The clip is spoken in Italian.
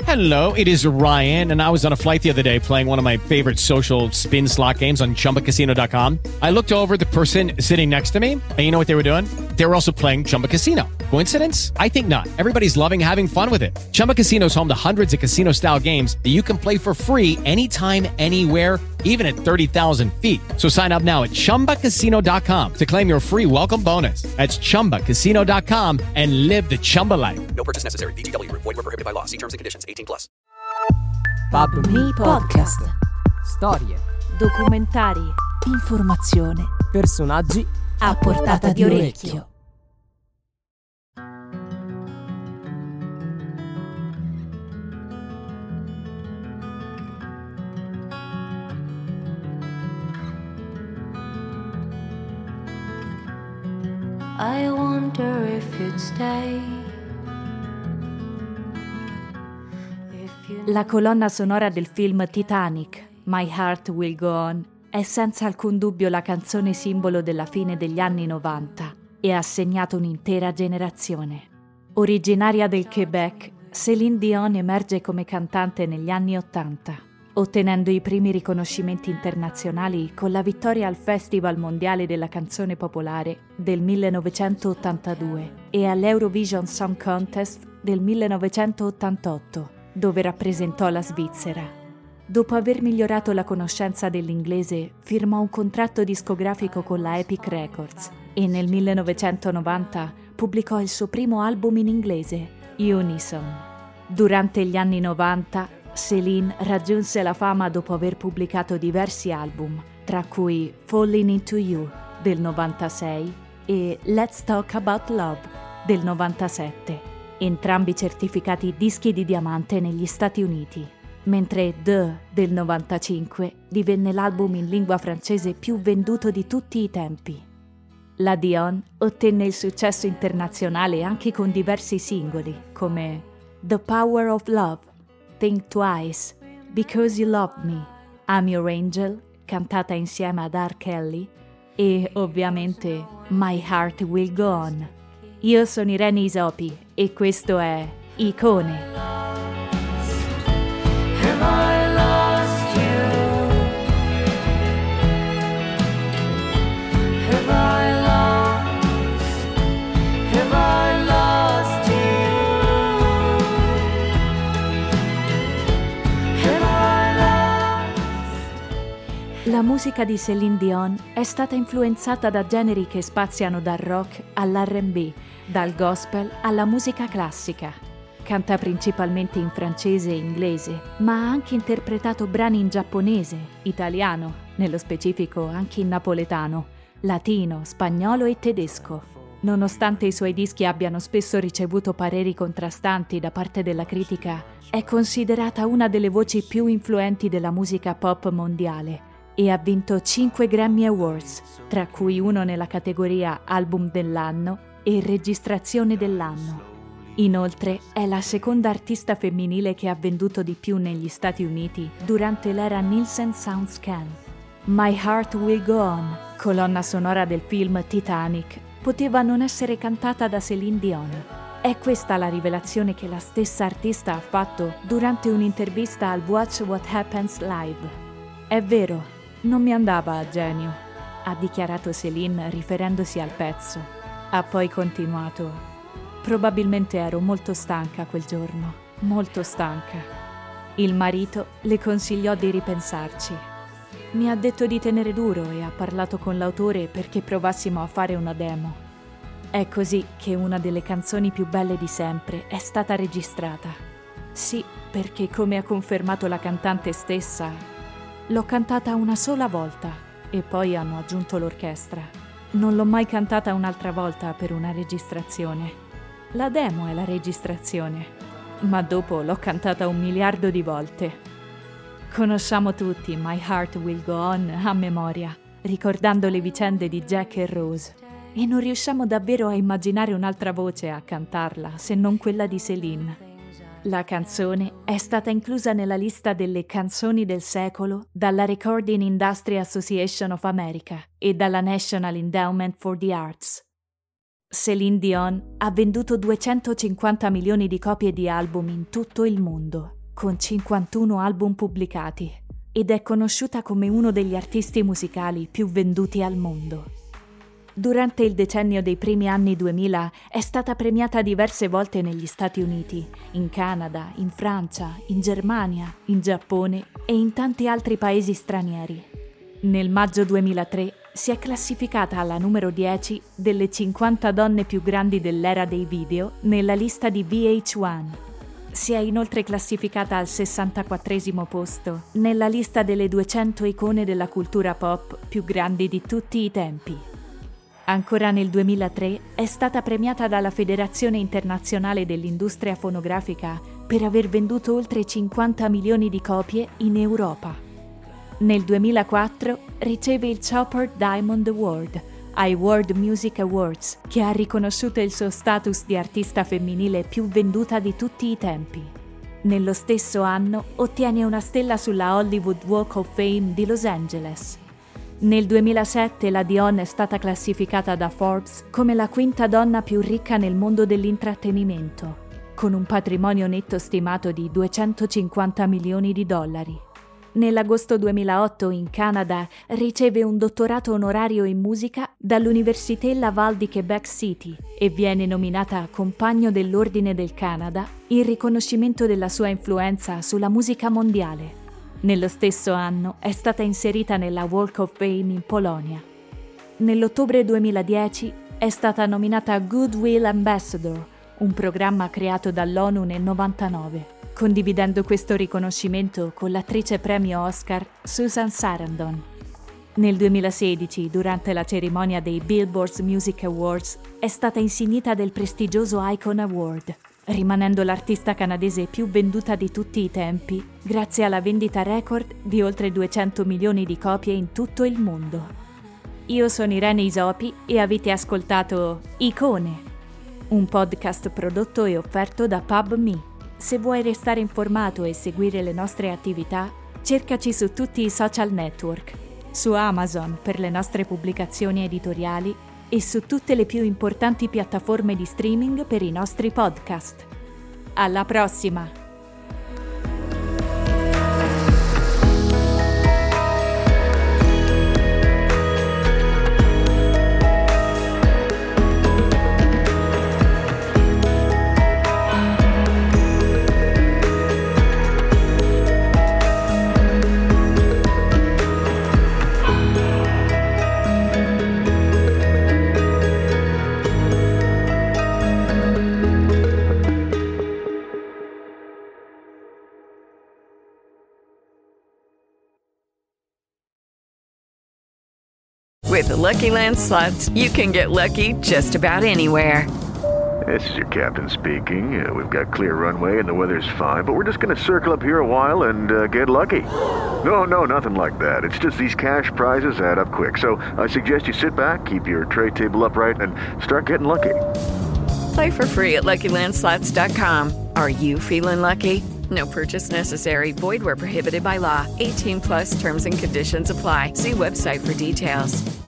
Hello, it is Ryan, and I was on a flight the other day playing one of my favorite social spin slot games on ChumbaCasino.com. I looked over at the person sitting next to me, and you know what they were doing? They were also playing Chumba Casino. Coincidence? I think not. Everybody's loving having fun with it. Chumba Casino is home to hundreds of casino-style games that you can play for free anytime, anywhere, even at 30,000 feet. So sign up now at ChumbaCasino.com to claim your free welcome bonus. That's ChumbaCasino.com and live the Chumba life. No purchase necessary. VGW. Void were prohibited by law. See terms and conditions. 18+. Pub Me Podcast. Storie, documentari, informazione, personaggi a portata di orecchio. I wonder if you'd stay. La colonna sonora del film Titanic, My Heart Will Go On, è senza alcun dubbio la canzone simbolo della fine degli anni 90 e ha segnato un'intera generazione. Originaria del Quebec, Céline Dion emerge come cantante negli anni 80, ottenendo i primi riconoscimenti internazionali con la vittoria al Festival Mondiale della Canzone Popolare del 1982 e all'Eurovision Song Contest del 1988, dove rappresentò la Svizzera. Dopo aver migliorato la conoscenza dell'inglese, firmò un contratto discografico con la Epic Records e nel 1990 pubblicò il suo primo album in inglese, Unison. Durante gli anni 90, Céline raggiunse la fama dopo aver pubblicato diversi album, tra cui Falling Into You del 96 e Let's Talk About Love del 97, entrambi certificati dischi di diamante negli Stati Uniti, mentre The del 95 divenne l'album in lingua francese più venduto di tutti i tempi. La Dion ottenne il successo internazionale anche con diversi singoli come The Power of Love, Think Twice, Because You Love Me, I'm Your Angel, cantata insieme ad R. Kelly, e ovviamente My Heart Will Go On. Io sono Irene Isopi e questo è Icone. Have I lost you? Have I lost you? Have I lost? La musica di Céline Dion è stata influenzata da generi che spaziano dal rock all'R&B, dal gospel alla musica classica. Canta principalmente in francese e inglese, ma ha anche interpretato brani in giapponese, italiano, nello specifico anche in napoletano, latino, spagnolo e tedesco. Nonostante i suoi dischi abbiano spesso ricevuto pareri contrastanti da parte della critica, è considerata una delle voci più influenti della musica pop mondiale e ha vinto 5 Grammy Awards, tra cui uno nella categoria Album dell'anno e Registrazione dell'anno. Inoltre è la seconda artista femminile che ha venduto di più negli Stati Uniti durante l'era Nielsen SoundScan. My Heart Will Go On, colonna sonora del film Titanic, poteva non essere cantata da Céline Dion. È questa la rivelazione che la stessa artista ha fatto durante un'intervista al Watch What Happens Live. È vero, non mi andava a genio, ha dichiarato Céline riferendosi al pezzo. Ha poi continuato: probabilmente ero molto stanca quel giorno, molto stanca. Il marito le consigliò di ripensarci. Mi ha detto di tenere duro e ha parlato con l'autore perché provassimo a fare una demo. È così che una delle canzoni più belle di sempre è stata registrata. Sì, perché come ha confermato la cantante stessa, l'ho cantata una sola volta e poi hanno aggiunto l'orchestra. Non l'ho mai cantata un'altra volta per una registrazione. La demo è la registrazione, ma dopo l'ho cantata 1 miliardo di volte. Conosciamo tutti My Heart Will Go On a memoria, ricordando le vicende di Jack e Rose, e non riusciamo davvero a immaginare un'altra voce a cantarla se non quella di Céline. La canzone è stata inclusa nella lista delle canzoni del secolo dalla Recording Industry Association of America e dalla National Endowment for the Arts. Céline Dion ha venduto 250 milioni di copie di album in tutto il mondo, con 51 album pubblicati, ed è conosciuta come uno degli artisti musicali più venduti al mondo. Durante il decennio dei primi anni 2000 è stata premiata diverse volte negli Stati Uniti, in Canada, in Francia, in Germania, in Giappone e in tanti altri paesi stranieri. Nel maggio 2003 si è classificata alla numero 10 delle 50 donne più grandi dell'era dei video nella lista di VH1. Si è inoltre classificata al 64° posto nella lista delle 200 icone della cultura pop più grandi di tutti i tempi. Ancora nel 2003 è stata premiata dalla Federazione Internazionale dell'Industria Fonografica per aver venduto oltre 50 milioni di copie in Europa. Nel 2004 riceve il Chopper Diamond Award ai World Music Awards, che ha riconosciuto il suo status di artista femminile più venduta di tutti i tempi. Nello stesso anno ottiene una stella sulla Hollywood Walk of Fame di Los Angeles. Nel 2007 la Dion è stata classificata da Forbes come la quinta donna più ricca nel mondo dell'intrattenimento, con un patrimonio netto stimato di 250 milioni di dollari. Nell'agosto 2008 in Canada riceve un dottorato onorario in musica dall'Université Laval di Quebec City e viene nominata Compagno dell'Ordine del Canada in riconoscimento della sua influenza sulla musica mondiale. Nello stesso anno è stata inserita nella Walk of Fame in Polonia. Nell'ottobre 2010 è stata nominata Goodwill Ambassador, un programma creato dall'ONU nel 1999, condividendo questo riconoscimento con l'attrice premio Oscar Susan Sarandon. Nel 2016, durante la cerimonia dei Billboard Music Awards, è stata insignita del prestigioso Icon Award, rimanendo l'artista canadese più venduta di tutti i tempi, grazie alla vendita record di oltre 200 milioni di copie in tutto il mondo. Io sono Irene Isopi e avete ascoltato Icone, un podcast prodotto e offerto da PubMe. Se vuoi restare informato e seguire le nostre attività, cercaci su tutti i social network, su Amazon per le nostre pubblicazioni editoriali e su tutte le più importanti piattaforme di streaming per i nostri podcast. Alla prossima! With the Lucky Land Slots, you can get lucky just about anywhere. This is your captain speaking. We've got clear runway and the weather's fine, but we're just going to circle up here a while and get lucky. No, nothing like that. It's just these cash prizes add up quick. So I suggest you sit back, keep your tray table upright, and start getting lucky. Play for free at LuckyLandSlots.com. Are you feeling lucky? No purchase necessary. Void where prohibited by law. 18+ terms and conditions apply. See website for details.